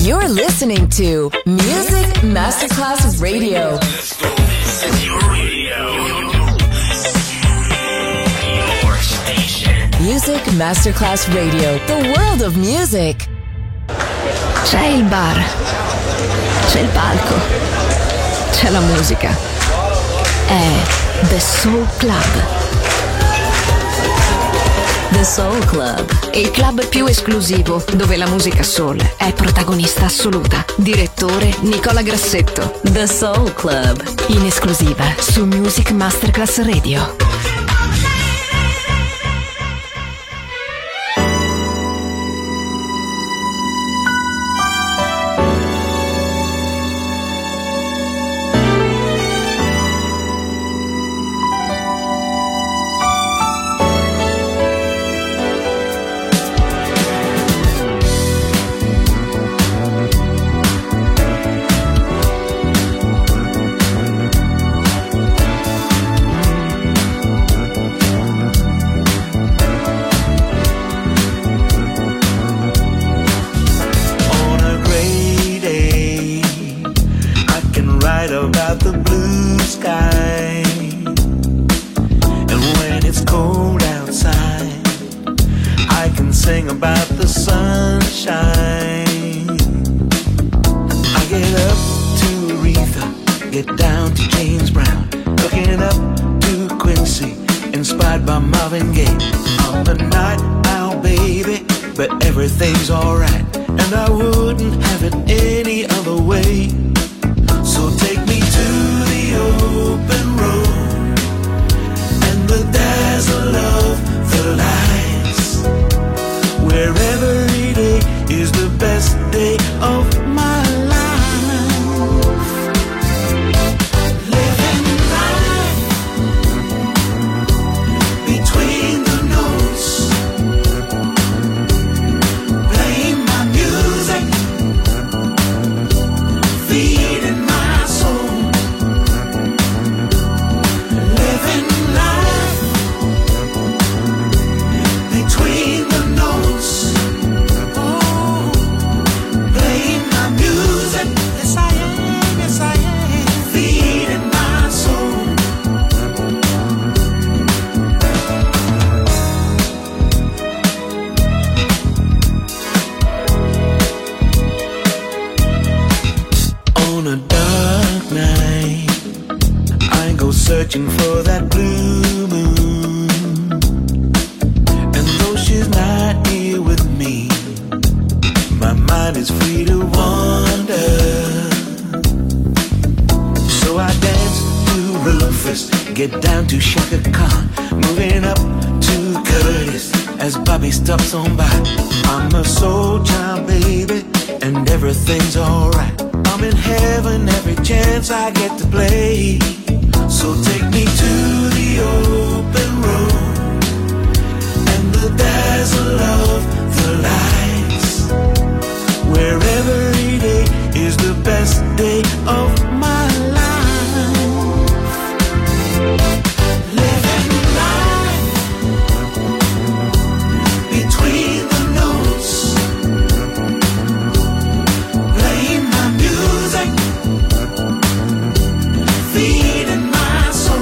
You're listening to Music Masterclass Radio. Let's go. Your radio. Your station. Music Masterclass Radio. The world of music. C'è il bar. C'è il palco. C'è la musica. È The Soul Club. The Soul Club. Il club più esclusivo dove la musica soul è protagonista assoluta. Direttore Nicola Grassetto. The Soul Club. In esclusiva su Music Masterclass Radio. Feeding my soul.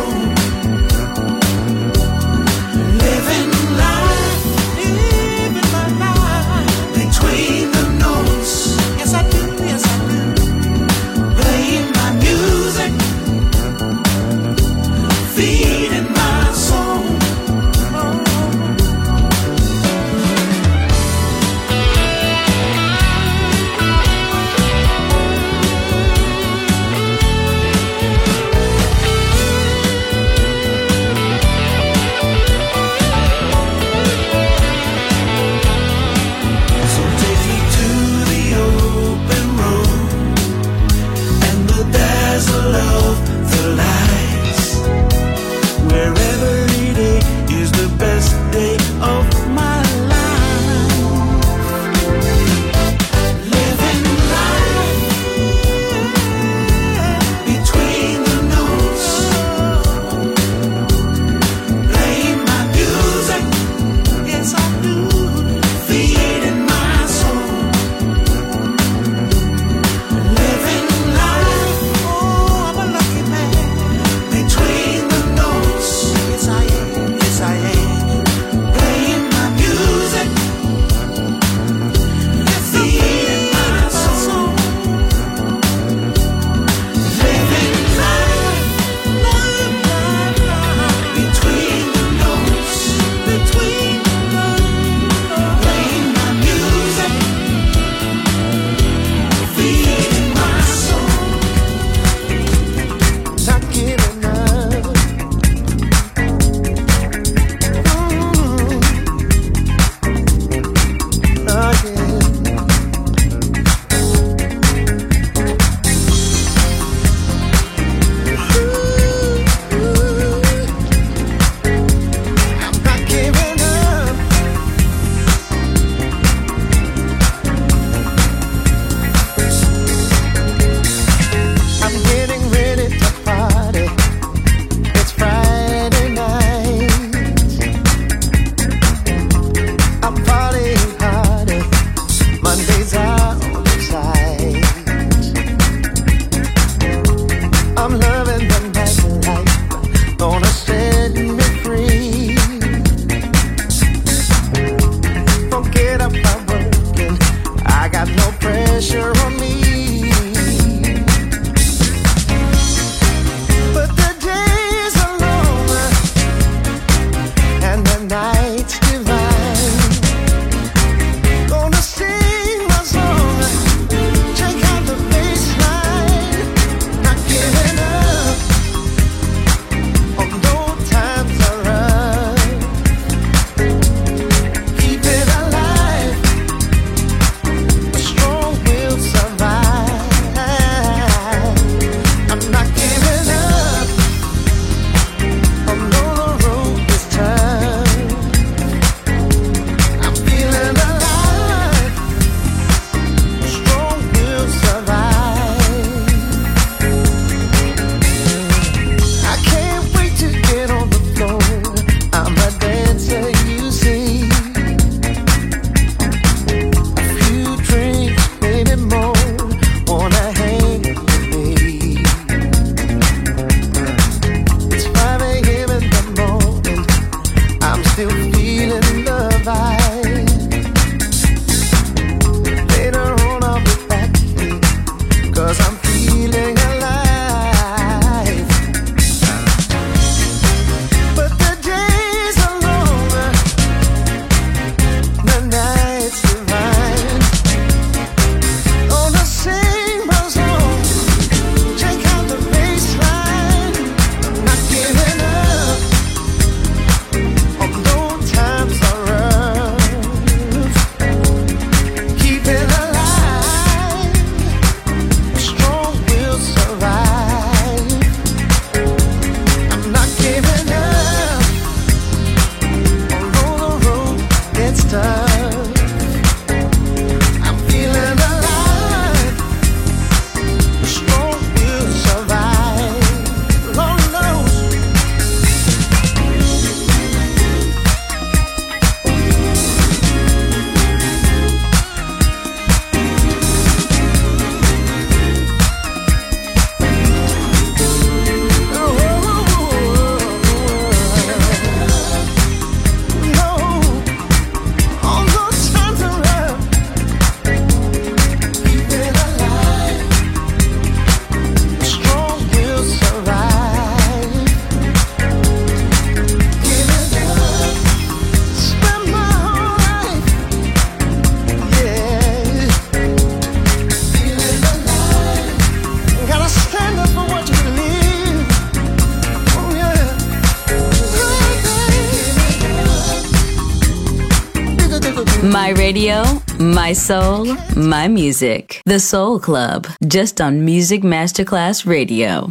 My radio, my soul, my music. The Soul Club, just on Music Masterclass Radio.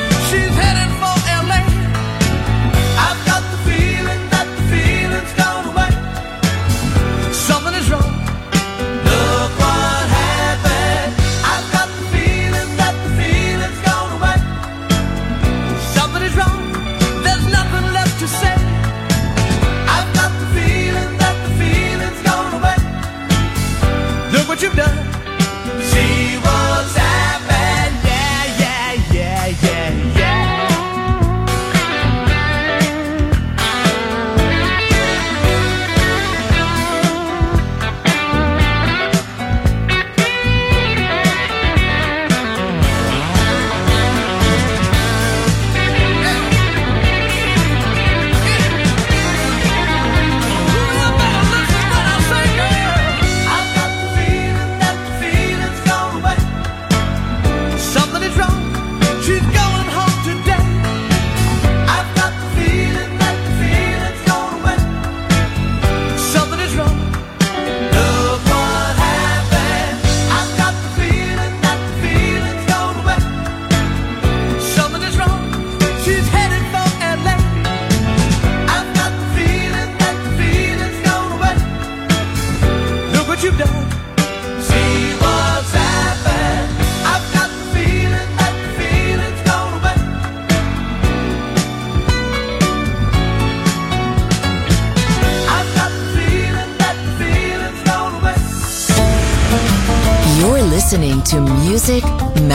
Gone away.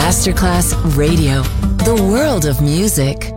Masterclass Radio. The world of music.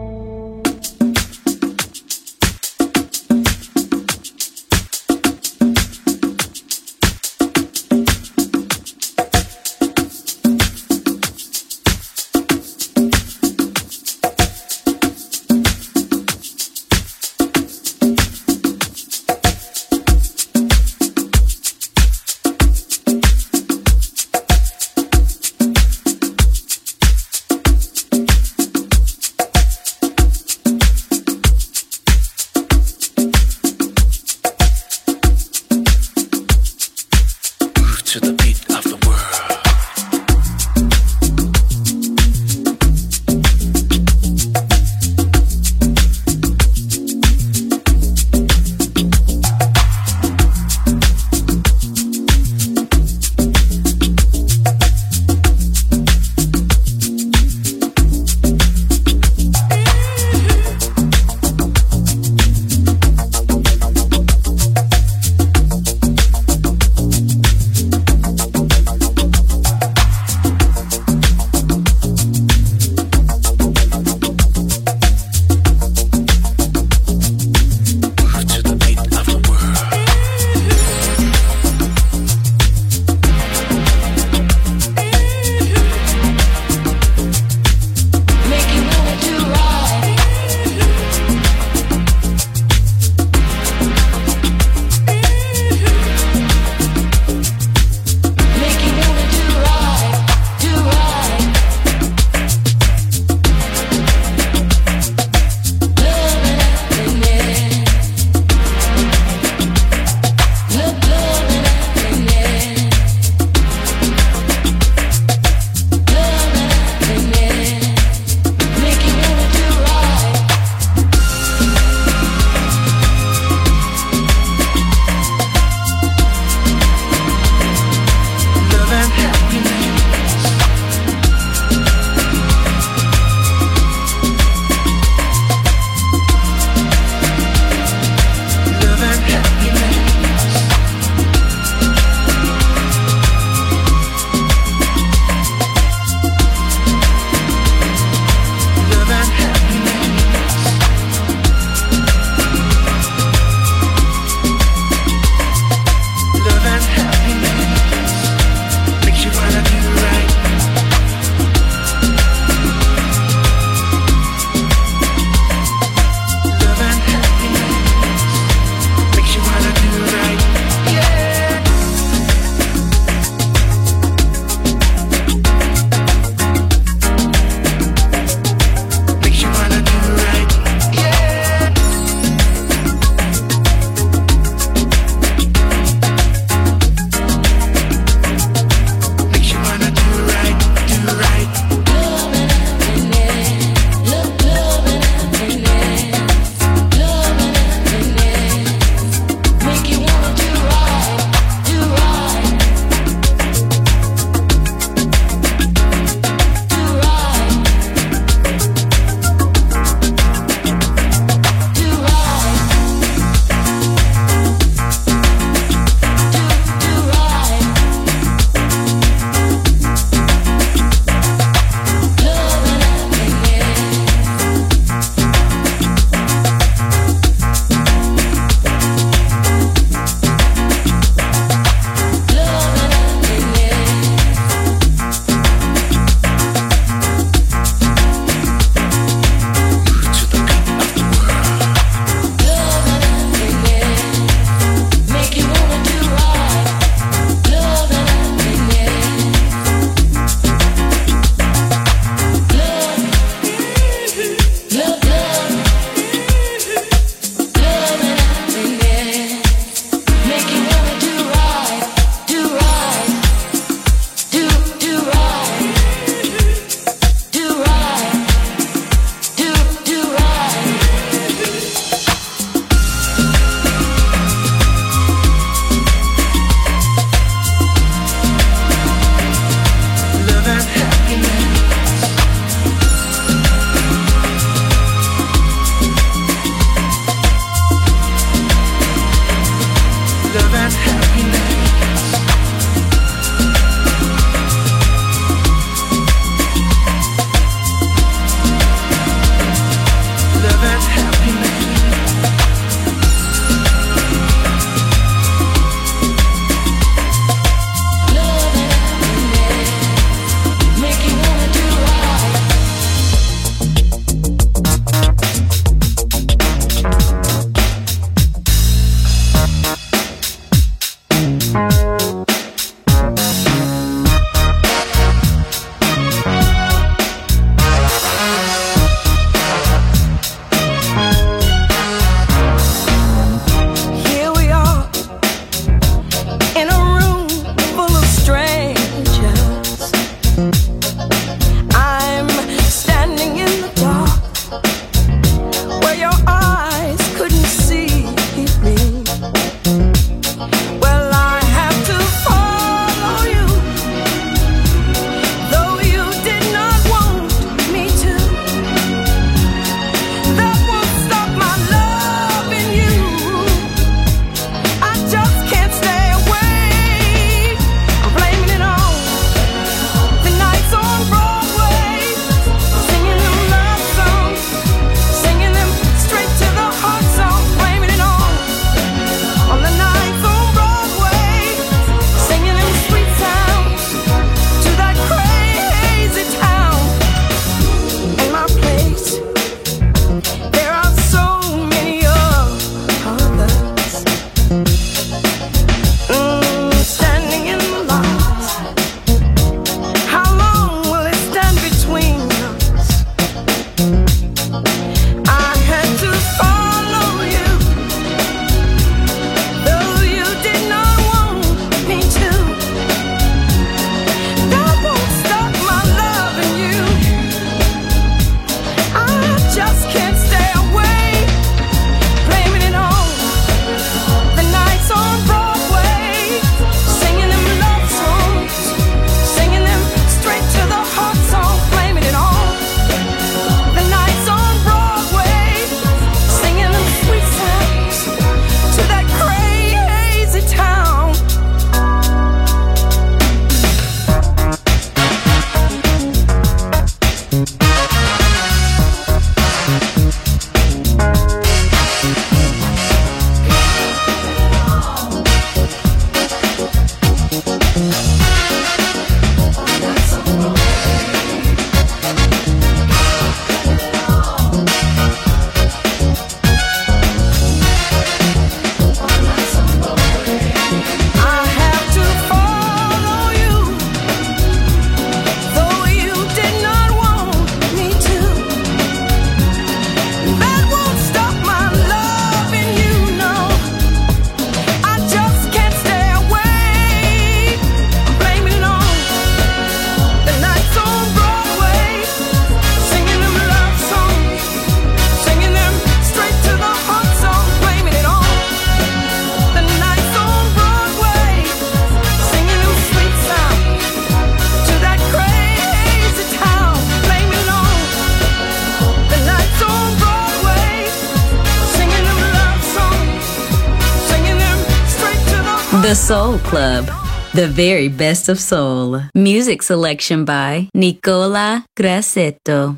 The Soul Club, the very best of soul. Music selection by Nicola Grassetto.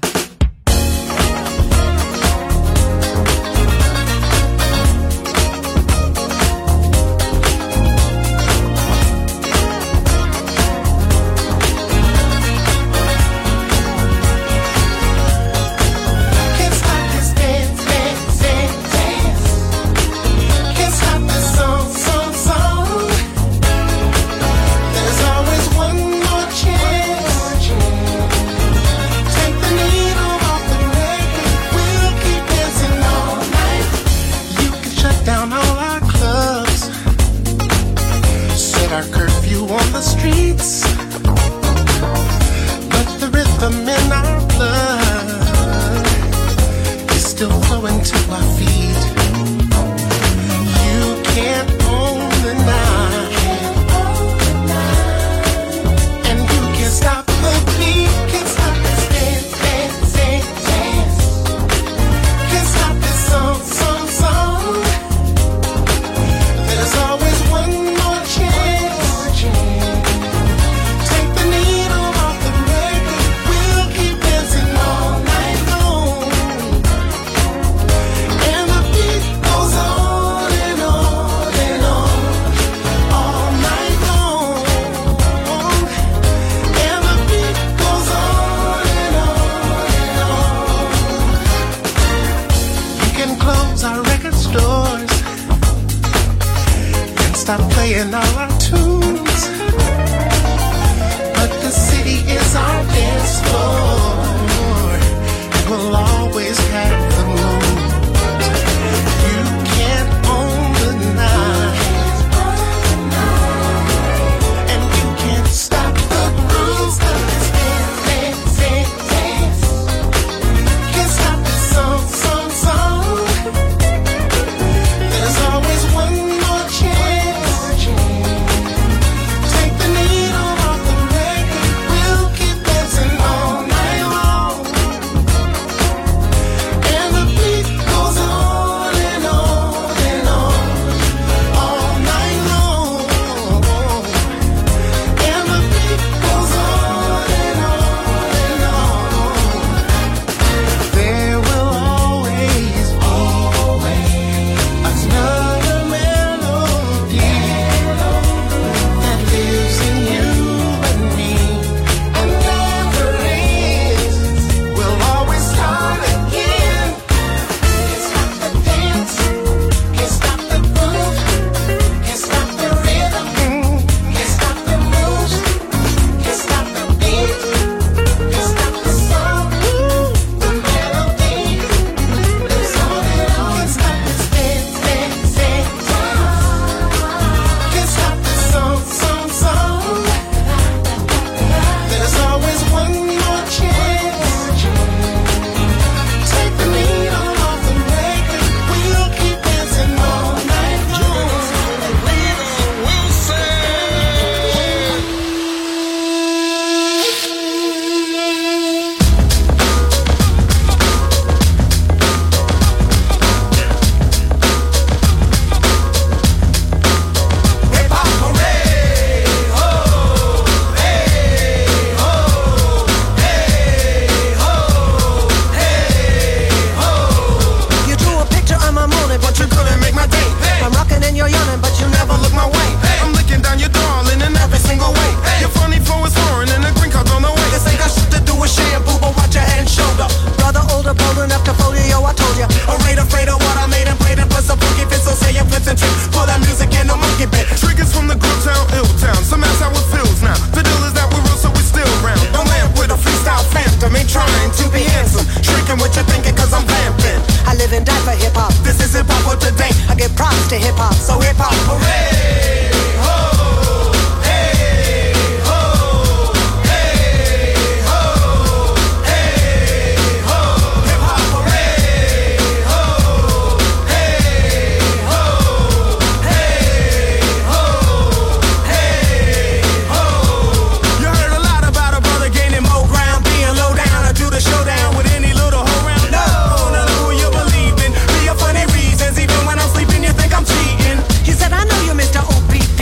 He said, I know you, Mr. OPP.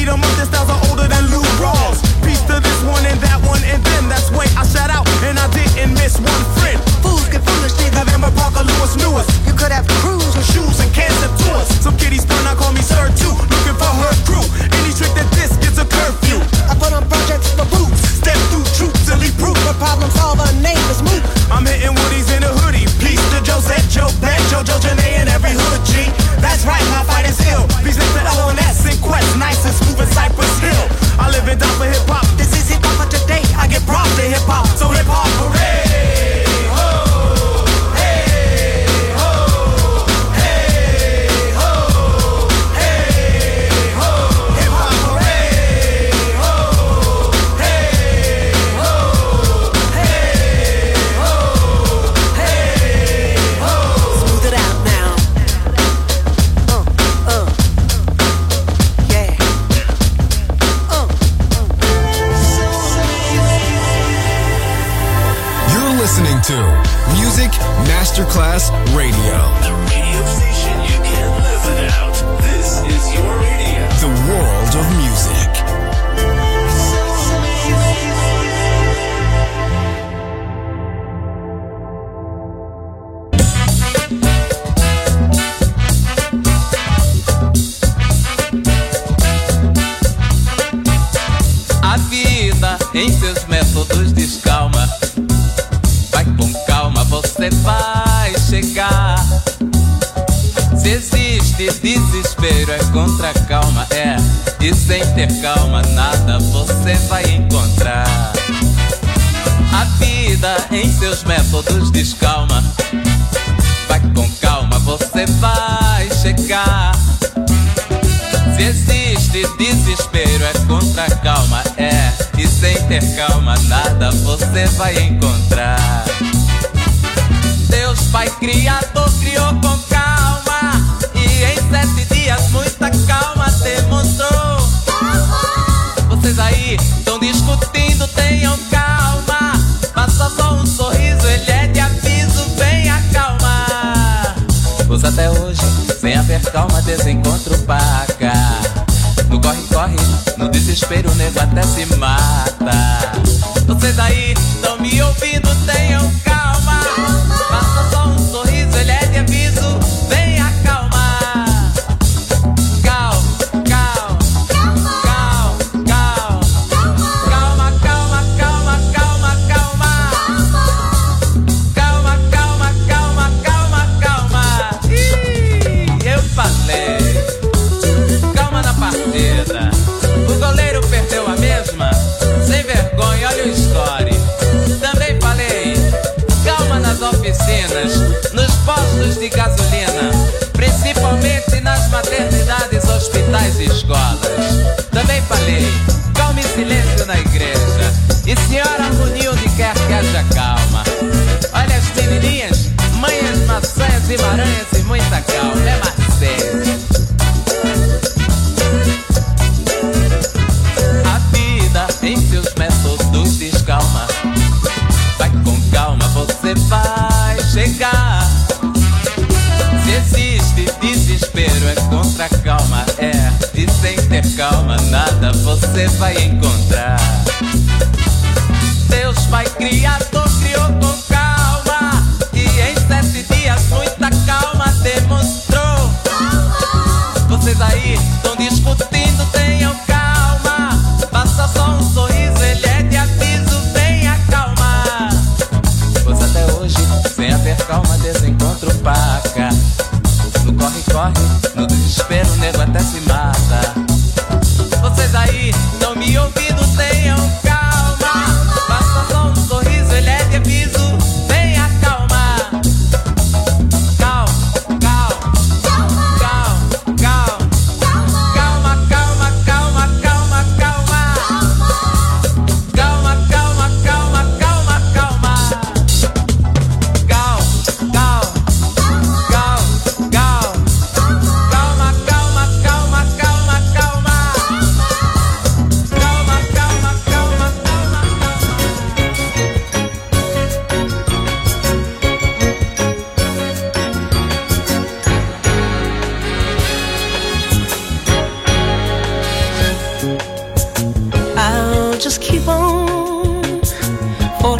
them up, their styles are older than Lou Rawls. Peace to this one and that one and them. That's way I shout out and I didn't miss one friend. Fools get foolish, neither them or Parker Lewis Lewis. You could have crews with shoes and cans of tours. Some kiddies turn out call me Sir too, looking for her crew. Any trick that this gets a curfew. I put on projects for boots, step through troops and leave proof. The problem solver, name is Moot. I'm hitting Woodies in a hoodie. Peace to Josette, Joe Bad, Jojo, Janae, and every hood G. That's right, my fight is ill. Peace next to L&S and Quest, nice and smooth as Cypress Hill. I live and die for hip hop. This is hip hop for today. I get props to hip hop, so hip hop hooray! To Music Masterclass Radio. The radio station you can't live without. This is your radio. The world of music. A vida em seus métodos descalma. Vai com calma, você vai chegar. Se existe desespero, é contra a calma, é. E sem ter calma, nada você vai encontrar. A vida em seus métodos descalma. Vai com calma, você vai chegar. Se existe desespero, é contra a calma, é. E sem ter calma, nada você vai encontrar. Deus Pai Criador criou com calma, e em 7 dias muita calma demonstrou. Vocês aí estão discutindo, tenham calma. Faça só um sorriso, ele é de aviso, vem acalmar. Pois até hoje, sem haver calma, desencontro paga. No corre-corre, no desespero, o nego até se mata. Vocês aí estão me ouvindo, tenham calma. Faça só um sorriso, ele é de aviso, vem acalmar. Calma, calma, calma, calma. Calma, calma, calma, calma, calma. Calma, calma, calma, calma, calma. Ih, eu falei. Partida. O goleiro perdeu a mesma. Sem vergonha, olha o score. Também falei. Calma nas oficinas, nos postos de gasolina, principalmente nas maternidades, hospitais e escolas. Também falei. Calma e silêncio na igreja. E senhora harmonia onde quer que haja calma. Olha as menininhas, manhas, maçãs e maranhas e muita calma. É Marcelo. Em seus métodos descalma. Vai com calma, você vai chegar. Se existe desespero, é contra a calma, é. E sem ter calma, nada você vai encontrar. Deus Pai Criador criou com calma, e em 7 dias muita calma demonstrou. Vocês aí estão discutindo, tenham calma. Faça só um sorriso, ele é de aviso, vem acalmar. Pois até hoje, sem haver calma, desencontro paga. No corre-corre, no desespero, o nego até se mata. Vocês aí estão me ouvindo, tenham calma. Faça só um sorriso, ele é de aviso, vem acalmar. Calma, calma, calma, calma. Calma, calma, calma, calma, calma. Calma, calma, calma, calma, calma. Calma, calma, calma, calma. Calma, calma, calma, calma, calma. Calma,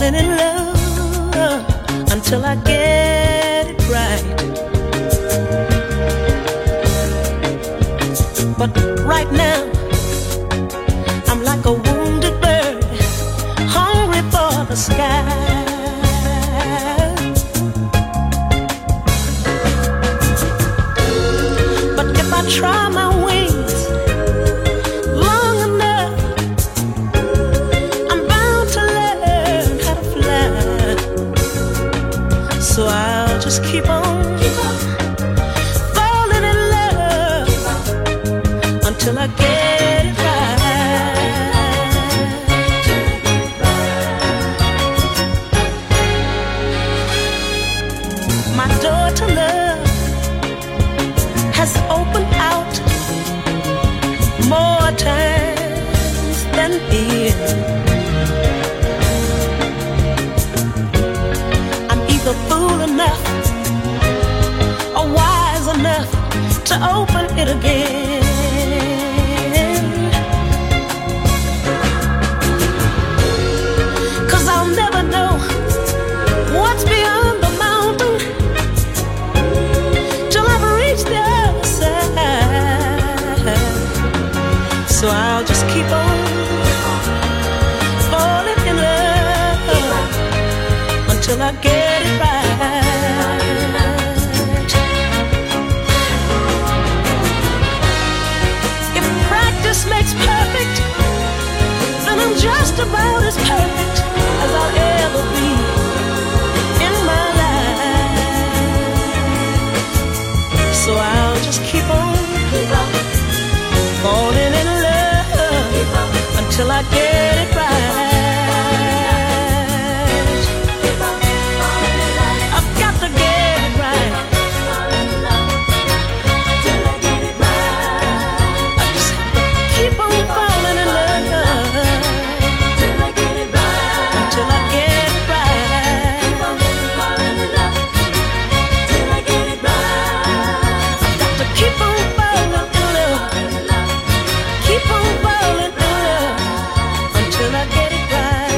falling in love until I get it right. But right now, I'm like a wounded bird, hungry for the sky. But if I try my wings long enough, I'm bound to learn how to fly. So I'll just keep on falling in love until I get it right. My door to love has opened out more times than in. I'm either fool enough or wise enough to open it again. Cause I'll never know what's beyond the mountain till I've reached the other side. So I'll just keep on falling in love until I get it right. If practice makes perfect, then I'm just about as perfect as I'll ever be in my life. So I'll just keep on falling in love until I get it right. I've got to get it right. I just have to keep on falling in love until I get it right. I've got to keep on falling in love. Keep on falling in love until I get it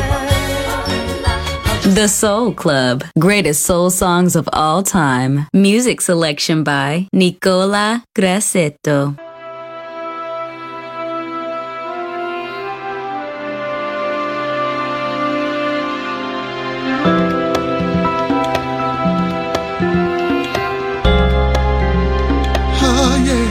right. The Soul Club, greatest soul songs of all time. Music selection by Nicola Grassetto. Oh, yeah.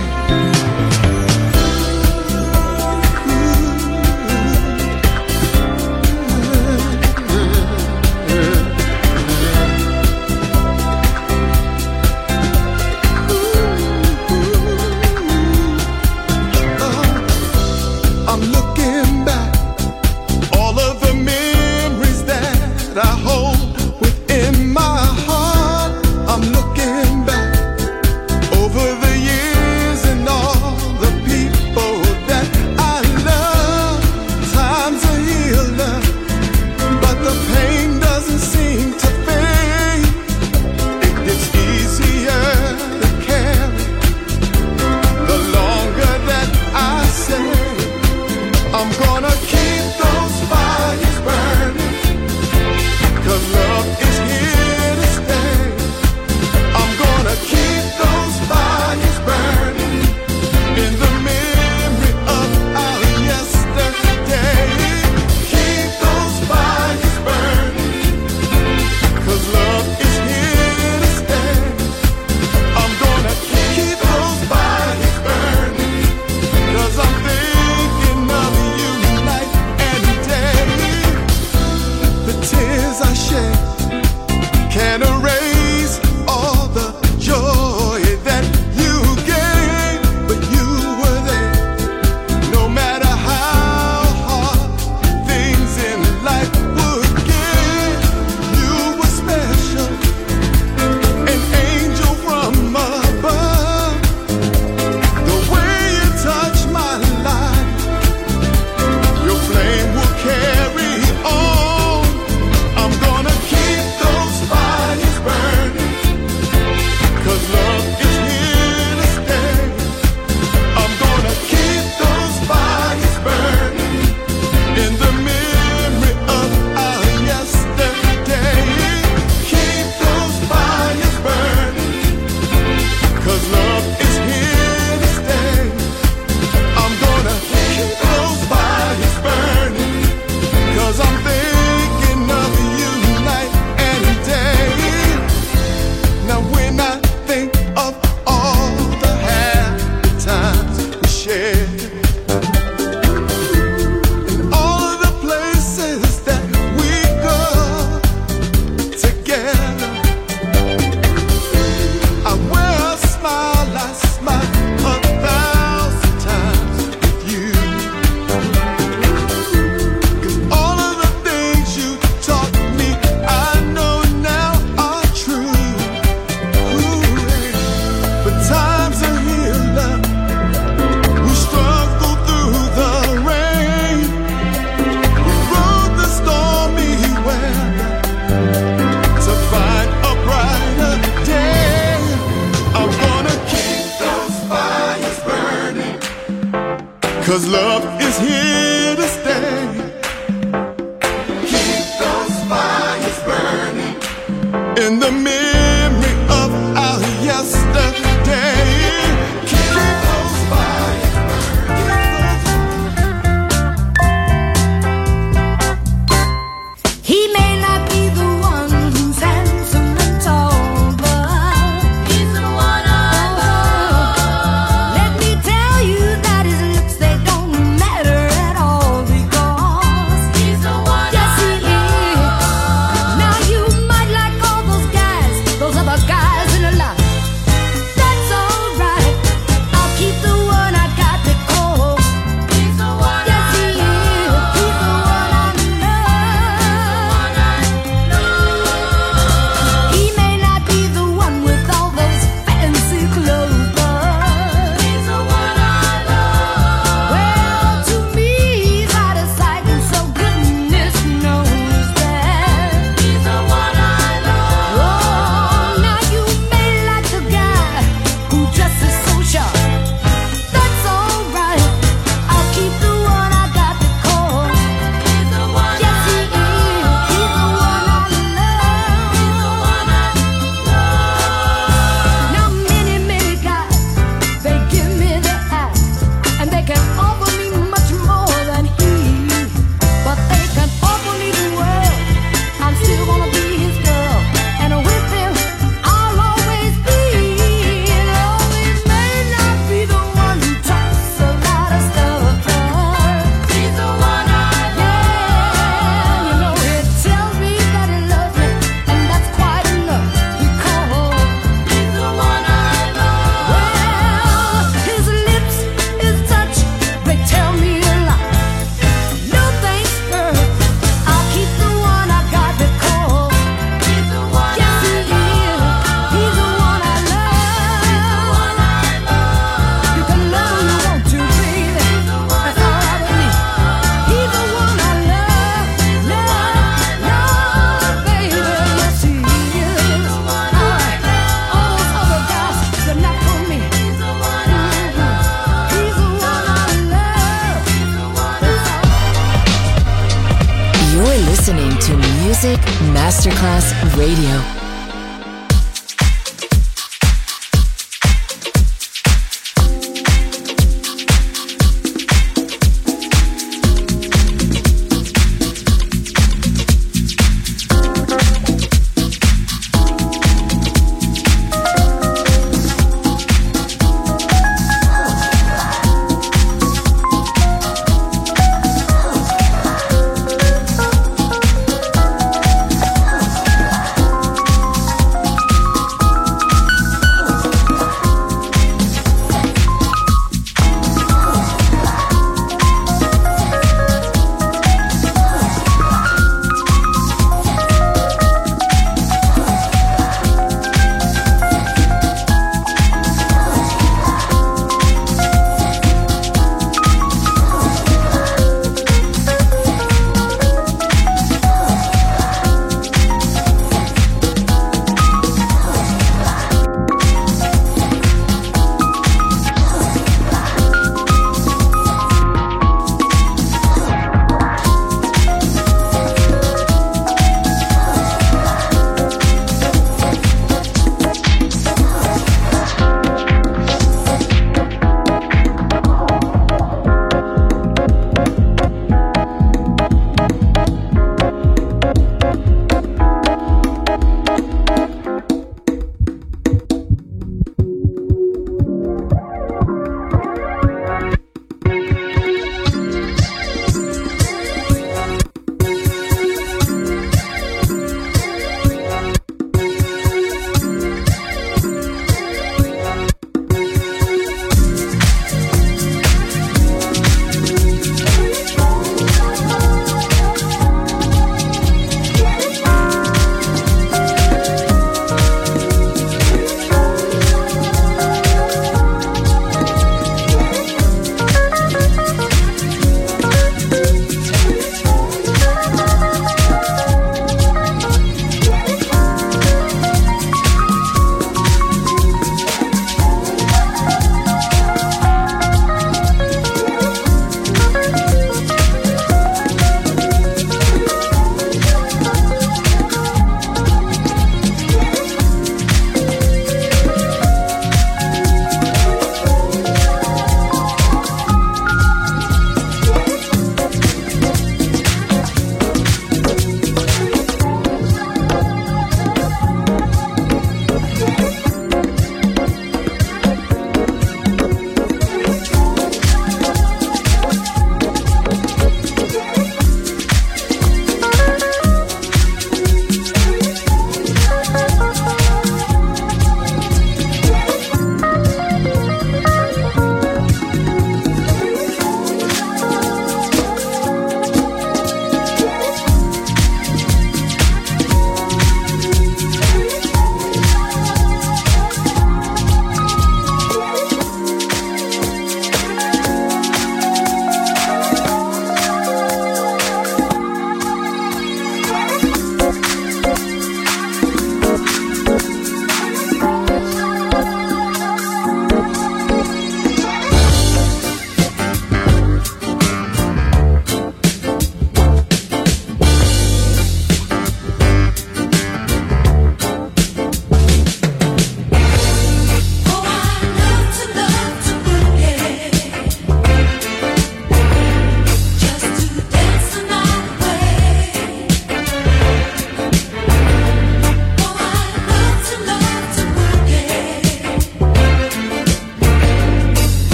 'cause love is here to stay. Keep those fires burning in the memory of our yesterday. Keep those fires burning. He may not be the one who's handsome and tall, but he's the one I love. Let me tell you that his looks, they don't matter at all, because he's the one. Yes, he is. Now you might like all those guys, those other guys in the lot. That's alright. I'll keep the one I got to call. He's the one. Yes, he is. He's the one I love. He may not be the one with all those fancy clothes, but he's the one I love. Well, to me, he's out of sight, and so goodness knows that he's the one I love. Oh, now you may like the guy who dresses so sharp. That's alright. I'll keep the one I got to call. He's the one. Yes, he is. He's the one I love. He's the one I love. Now many, many guys, they give me the eye, and they can offer me much more than he, but they can offer me the world. I'm still gonna be his girl, and with him I'll always be. Though he may not be the one who talks a lot of stuff, but he's the one I love. You know he tells me that he loves me, and that's quite enough, because he's the one I love. Well, his lips, his touch, they tell me a lot. No thanks, girl, I'll keep the one I got to call. He's the one. Yes, he is. He's the one I love. You can love who you want to, baby. That's all right with me. He's the one I love, baby. Yes, he is. All right. All those other guys, they're not for me. He's the one I love. He's the one I love. You're listening to Music Masterclass Radio.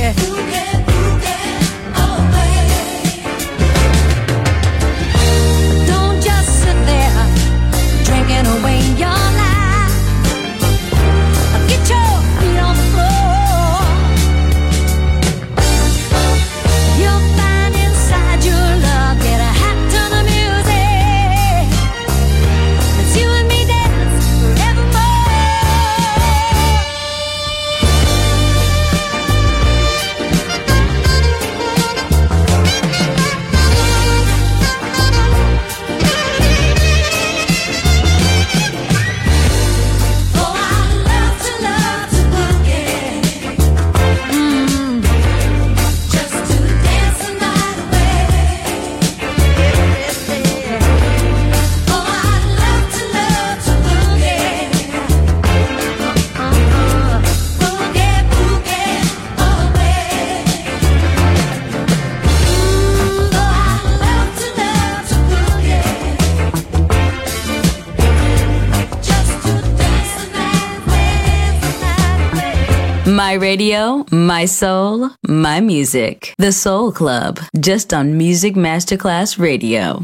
Don't just sit there drinking away your life. Get your feet on the floor. You'll find inside your love. Get a hat to the music. It's you and me dance forevermore. Oh, I love to boogie. Just to dance the night away. Oh, I love to boogie. Boogie, boogie all the way. Oh, I love to boogie. Just to dance the night away. My radio, my soul, my music. The Soul Club, just on Music Masterclass Radio.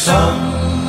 some.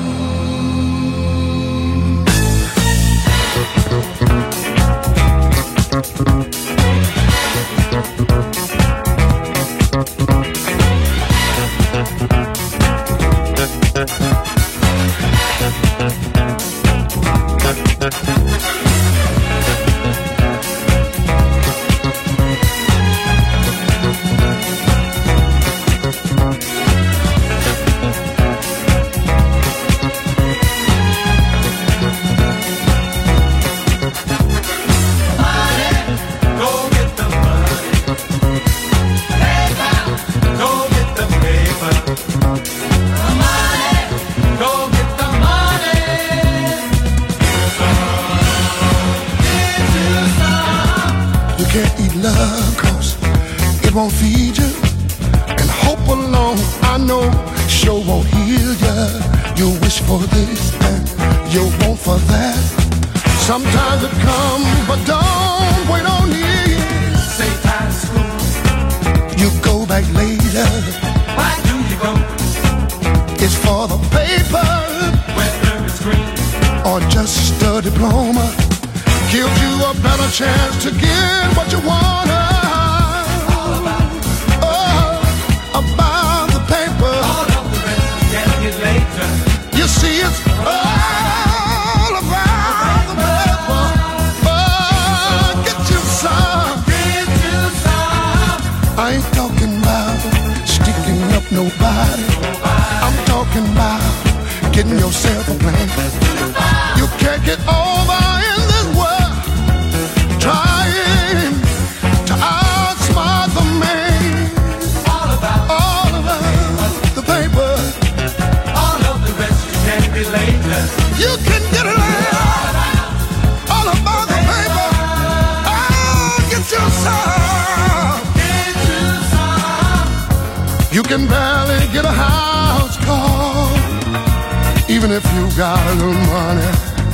Won't feed you, and hope alone I know sure won't heal ya. You wish for this and you want for that. Sometimes it comes, but don't wait on it. Say time to school, you go back later. Why do you go? It's for the paper, whether it's green or just a diploma. Gives you a better chance to get what you want. About the paper, all of the rest can get later. You see, it's all about the paper. Get you some, get you some. I ain't talking about sticking up nobody. I'm talking about getting yourself a plan. You can't get over in this world trying to outsmart the man. You can get it all about the paper. Oh, get you some. You can barely get a house call, even if you got a little money.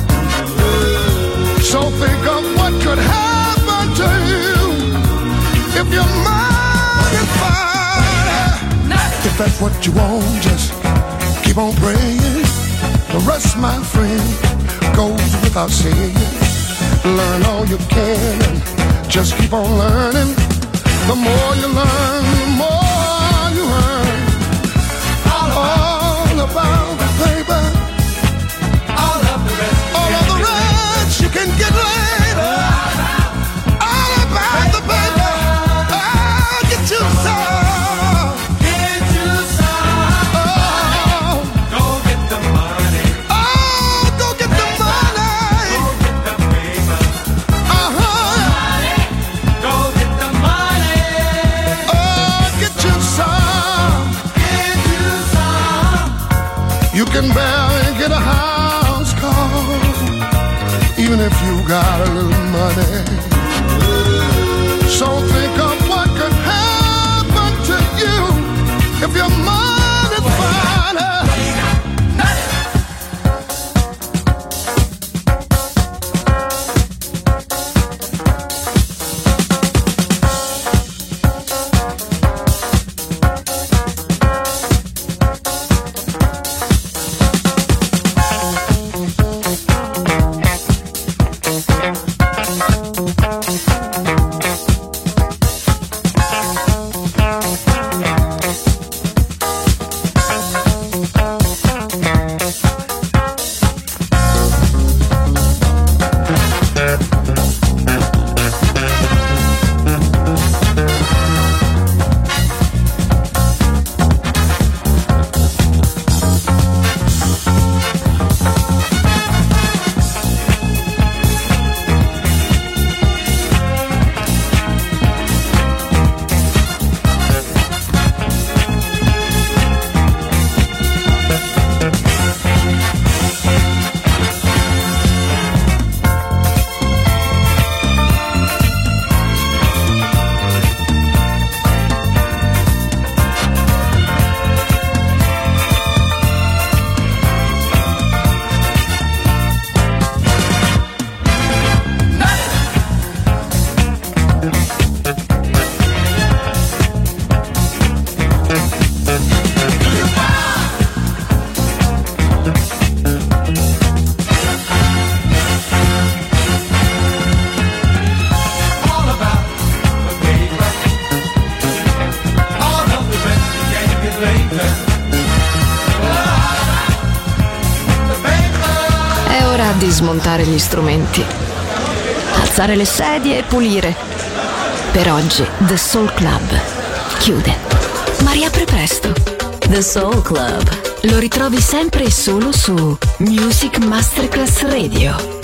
So think of what could happen to you if your money fine. If that's what you want, just keep on praying. The rest, my friend, goes without saying. Learn all you can and just keep on learning. The more you learn, the more you earn. All about the paper. All of the rest you can get later. All about the paper. Oh, get you some. You can barely get a house call, even if you got a little money. So think of what could happen to you if your money's fine. Ora di smontare gli strumenti, alzare le sedie e pulire. Per oggi The Soul Club chiude, ma riapre presto. The Soul Club. Lo ritrovi sempre e solo su Music Masterclass Radio.